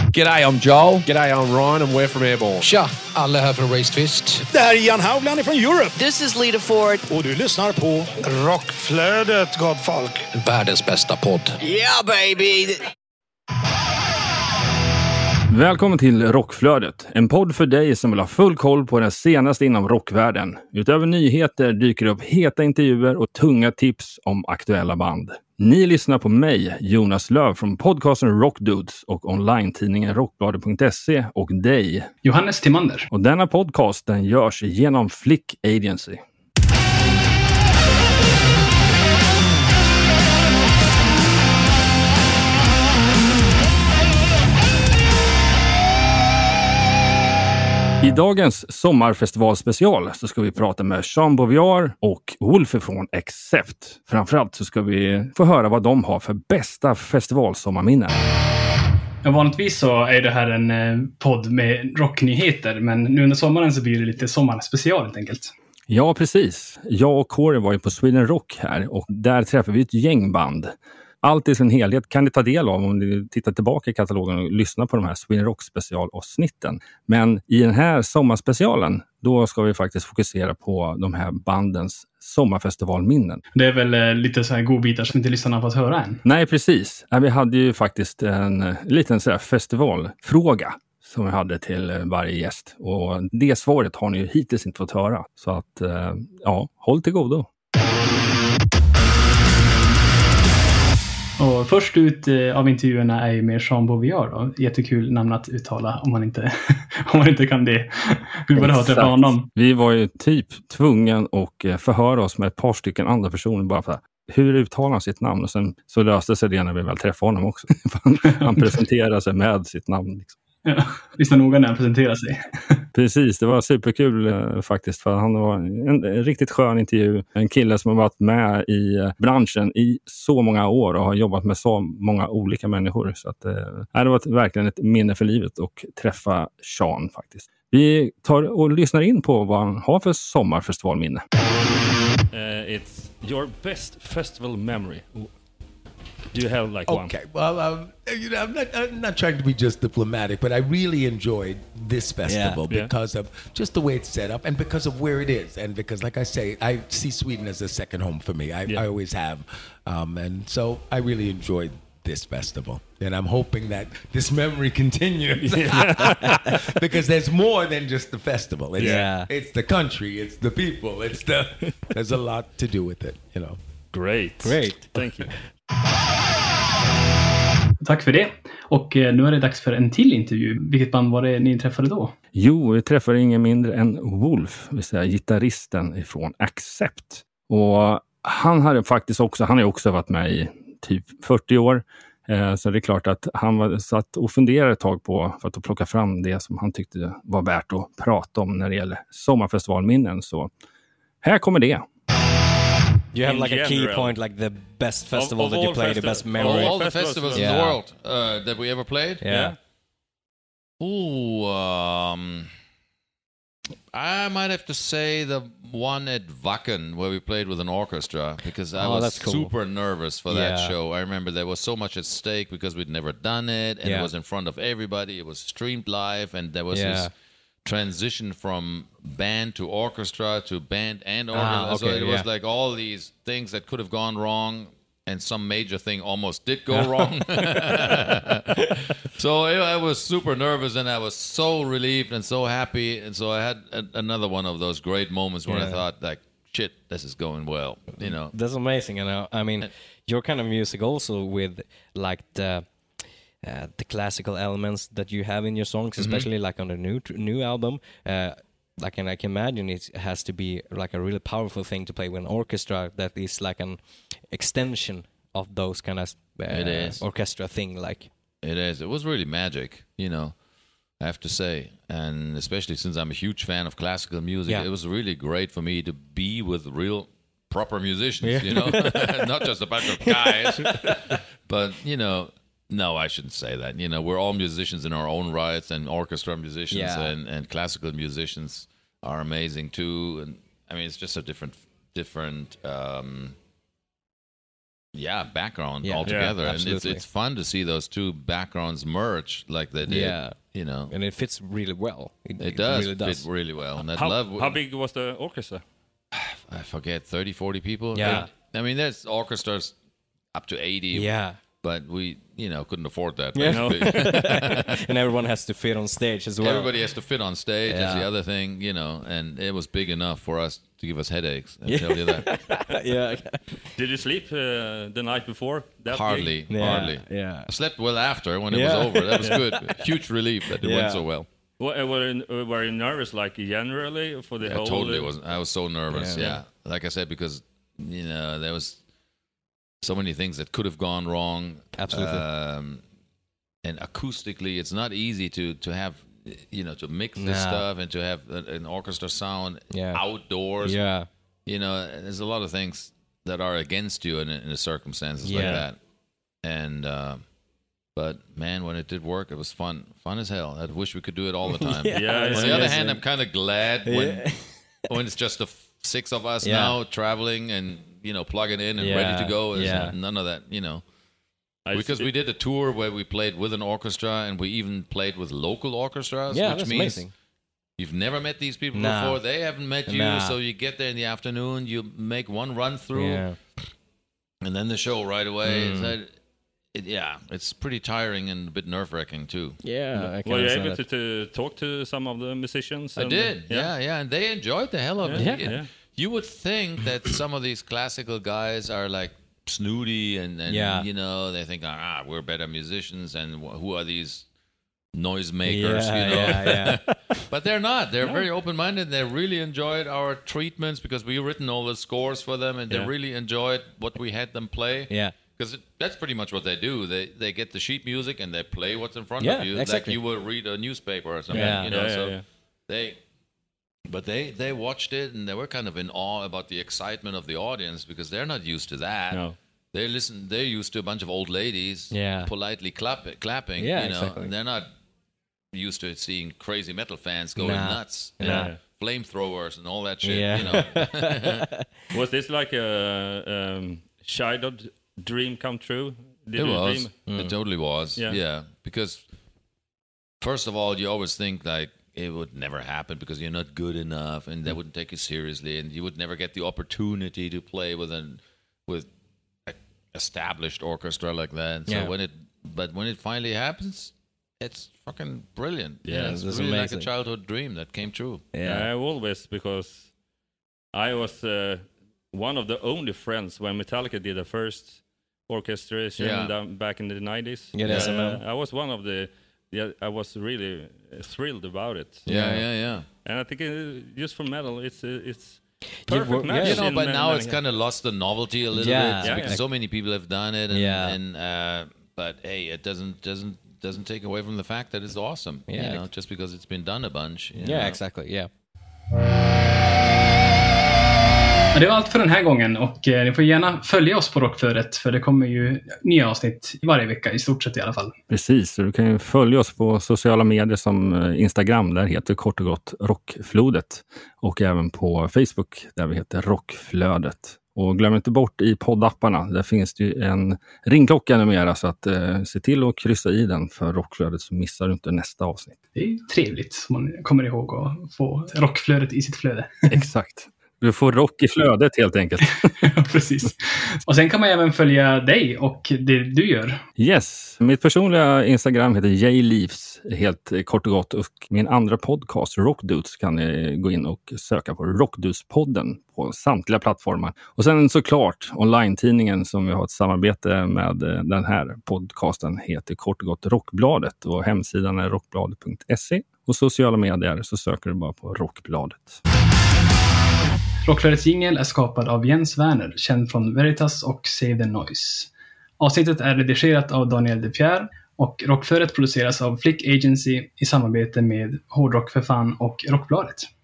G'day, I'm Joel. G'day, I'm Ryan and we're from Airborne. Tja, alla här från Raised Fist. Det här är Ian Haugland från Europe. This is Lita Ford. Och du lyssnar på Rockflödet, gott folk. Världens bästa podd. Yeah, baby! Välkommen till Rockflödet, en podd för dig som vill ha full koll på det senaste inom rockvärlden. Utöver nyheter dyker det upp heta intervjuer och tunga tips om aktuella band. Ni lyssnar på mig, Jonas Löv från podcasten Rockdudes och online-tidningen rockbladet.se och dig, Johannes Timander. Och denna podcast den görs genom Flick Agency. I dagens sommarfestivalspecial så ska vi prata med Jean Beauvoir och Wolf från Accept. Framförallt så ska vi få höra vad de har för bästa festivalsommarminnen. Ja, vanligtvis så är det här en podd med rocknyheter, men nu under sommaren så blir det lite sommarspecial helt enkelt. Ja, precis. Jag och Corey var ju på Sweden Rock här och där träffade vi ett gäng band. Allt i sin helhet kan ni ta del av om ni tittar tillbaka i katalogen och lyssnar på de här Sweden Rock specialavsnitten. Men i den här sommarspecialen, då ska vi faktiskt fokusera på de här bandens sommarfestivalminnen. Det är väl lite så här godbitar som inte lyssnarna har fått höra än. Nej, precis. Vi hade ju faktiskt en liten så här festivalfråga som vi hade till varje gäst. Och det svaret har ni ju hittills inte fått höra. Så att, ja, håll till godo. Och först ut av intervjuerna är ju med Jean Beauvoir då. Jättekul namn att uttala om man inte, om man inte kan det. Vi bara hört det från honom. Vi var ju typ tvungen att förhöra oss med ett par stycken andra personer bara för hur uttalar han sitt namn. Och sen så löste sig det när vi väl träffade honom också. Han presenterade sig med sitt namn liksom. Ja, lyssna noga när han presenterar sig. Precis, det var superkul faktiskt, för han var en riktigt skön intervju. En kille som har varit med i branschen i så många år och har jobbat med så många olika människor. Så att, det var verkligen ett minne för livet och träffa Jean faktiskt. Vi tar och lyssnar in på vad han har för sommarfestivalminne. It's your best festival memory. Do you have like one? Okay, well, you know, I'm not trying to be just diplomatic, but I really enjoyed this festival because of just the way it's set up and because of where it is. And because, like I say, I see Sweden as a second home for me. I always have. And so I really enjoyed this festival. And I'm hoping that this memory continues. Because there's more than just the festival. It's the country, it's the people, there's a lot to do with it, you know. Great. Thank you. Tack för det. Och nu är det dags för en till intervju. Vilket band var det ni träffade då? Jo, vi träffade ingen mindre än Wolf, vill säga gitarristen ifrån Accept. Och han har ju också varit med i typ 40 år. Så det är klart att han satt och funderade ett tag på för att plocka fram det som han tyckte var värt att prata om när det gäller sommarfestivalminnen. Så här kommer det. You have like a key point, like the best festival that you played, the best memory. All the festivals in the world that we ever played? Yeah. Ooh, I might have to say the one at Wacken where we played with an orchestra because I was super nervous for that show. I remember there was so much at stake because we'd never done it and it was in front of everybody. It was streamed live and there was this transition from band to orchestra to band and orchestra. So it was like all these things that could have gone wrong and some major thing almost did go wrong. So I was super nervous and I was so relieved and so happy. And so I had another one of those great moments when I thought like, shit, this is going well, you know. That's amazing. You know, I mean, your kind of music also with like the classical elements that you have in your songs, especially like on the new album. Like, and I can imagine it has to be like a really powerful thing to play with an orchestra that is like an extension of those kind of orchestra thing. Like it is. It was really magic, you know, I have to say. And especially since I'm a huge fan of classical music, it was really great for me to be with real proper musicians, you know, not just a bunch of guys, but, you know, no, I shouldn't say that. You know, we're all musicians in our own rights, and orchestra musicians and classical musicians are amazing too. And I mean, it's just a different background altogether. And it's fun to see those two backgrounds merge like they did. Yeah. You know, and it fits really well. It does fit really well. And how big was the orchestra? I forget, 30, 40 people. Yeah. I mean, there's orchestras up to 80. Yeah. But we, couldn't afford that. Yeah. And everyone has to fit on stage as well. Everybody has to fit on stage is the other thing, and it was big enough for us to give us headaches. I'll tell you that. Yeah. Did you sleep the night before? Hardly. Yeah. I slept well after when it was over. That was good. Huge relief that it went so well. Were you nervous, like generally for the whole? Totally wasn't. I was so nervous. Yeah. Like I said, because there was so many things that could have gone wrong. Absolutely. And acoustically, it's not easy to have, to mix this stuff and to have an orchestra sound outdoors. Yeah. There's a lot of things that are against you in the circumstances like that. And, but man, when it did work, it was fun as hell. I wish we could do it all the time. On the other hand, I'm kind of glad when it's just the 6 of us now traveling and, plugging in and ready to go. None of that, Because we did a tour where we played with an orchestra and we even played with local orchestras, which means amazing. You've never met these people before. They haven't met you, so you get there in the afternoon, you make one run through, and then the show right away. It's pretty tiring and a bit nerve-wracking too. Yeah. Were you able to talk to some of the musicians? I did, and they enjoyed the hell of it. Yeah. You would think that some of these classical guys are like snooty and they think, we're better musicians, and who are these noisemakers, But they're not. They're very open-minded. They really enjoyed our treatments because we've written all the scores for them, and they really enjoyed what we had them play. Yeah. Because that's pretty much what they do. They get the sheet music and they play what's in front of you. Exactly. Like you would read a newspaper or something. They watched it and they were kind of in awe about the excitement of the audience because they're not used to that. No. They're used to a bunch of old ladies politely clapping. Exactly. And they're not used to seeing crazy metal fans going nuts. Flamethrowers and all that shit. Was this like a childhood dream come true? It was. It totally was. Yeah. Because first of all, you always think like it would never happen because you're not good enough, and they wouldn't take you seriously, and you would never get the opportunity to play with an established orchestra like that. So when it finally happens, it's fucking brilliant. Yeah, it's really amazing. Like a childhood dream that came true. I always, because I was one of the only friends when Metallica did the first orchestration back in the 90s. I was one of the. I was really thrilled about it. Yeah. And I think just for metal, it's perfect match. But now it's kind of lost the novelty a little bit because so many people have done it. But hey, it doesn't take away from the fact that it's awesome. Just because it's been done a bunch. Exactly. Yeah. Det var allt för den här gången, och ni får gärna följa oss på Rockflödet, för det kommer ju nya avsnitt varje vecka, i stort sett i alla fall. Precis, så du kan ju följa oss på sociala medier som Instagram, där heter kort och gott Rockflodet, och även på Facebook där vi heter Rockflödet. Och glöm inte bort i poddapparna, där finns det ju en ringklocka numera, så att se till att kryssa i den för Rockflödet, så missar du inte nästa avsnitt. Det är trevligt, så man kommer ihåg att få Rockflödet i sitt flöde. Exakt. Du får rock i flödet helt enkelt. Ja, precis. Och sen kan man även följa dig och det du gör. Yes. Mitt personliga Instagram heter jleaves, helt kort och gott. Och min andra podcast, Rockdudes, kan ni gå in och söka på Rockdudes-podden på samtliga plattformar. Och sen såklart online-tidningen som vi har ett samarbete med, den här podcasten heter kort och gott Rockbladet. Och hemsidan är rockbladet.se. Och sociala medier så söker du bara på Rockbladet. Rockflödets jingle är skapad av Jens Werner, känd från Veritas och Save the Noise. Avsnittet är redigerat av Daniel De Pierre, och Rockflödet produceras av Flick Agency i samarbete med Hårdrock för fan och Rockbladet.